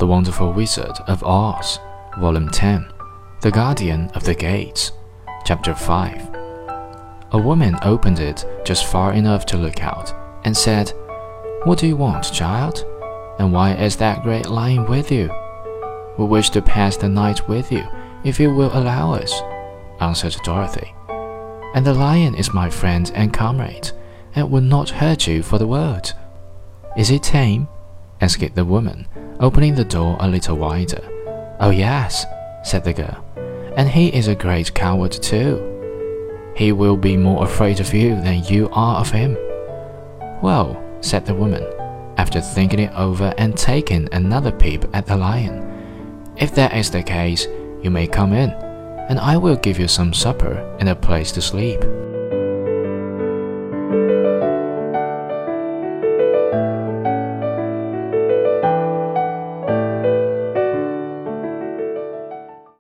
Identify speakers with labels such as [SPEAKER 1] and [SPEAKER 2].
[SPEAKER 1] Wonderful Wizard of Oz, Volume 10, The Guardian of the Gates, Chapter 5. A woman opened it just far enough to look out, and said, "What do you want, child? And why is that great lion with you?" "We wish to pass the night with you, if you will allow us," answered Dorothy. "And the lion is my friend and comrade, and will not hurt you for the world." "Is he tame?" asked the woman, opening the door a little wider. "Oh yes," said the girl, "and he is a great coward too. He will be more afraid of you than you are of him." "Well," said the woman, after thinking it over and taking another peep at the lion, "if that is the case, you may come in, and I will give you some supper and a place to sleep."